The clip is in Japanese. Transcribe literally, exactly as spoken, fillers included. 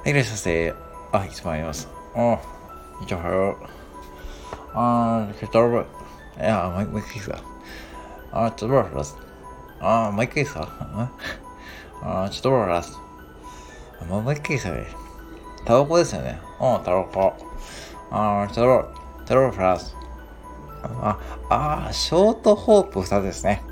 いらっしゃいませ。あ、いつもあります。あ、이쪽하요 아, 이렇게 떨어. 야, 뭐, 뭐, 있어. 아, 떨어, 알았어. 아, 뭐, 있어. 어? 아, 떨어, 알았어. 뭐, 뭐, 있어. タバコですよね。うん、タバコ。あー、タバコ、タバコプラス。あ、あー、ショートホープふたつですね。